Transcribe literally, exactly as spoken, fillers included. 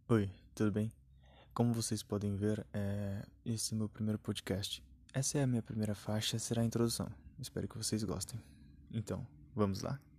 Oi, tudo bem? Como vocês podem ver, é... esse é meu primeiro podcast. Essa é a minha primeira faixa, será a introdução. Espero que vocês gostem. Então, vamos lá?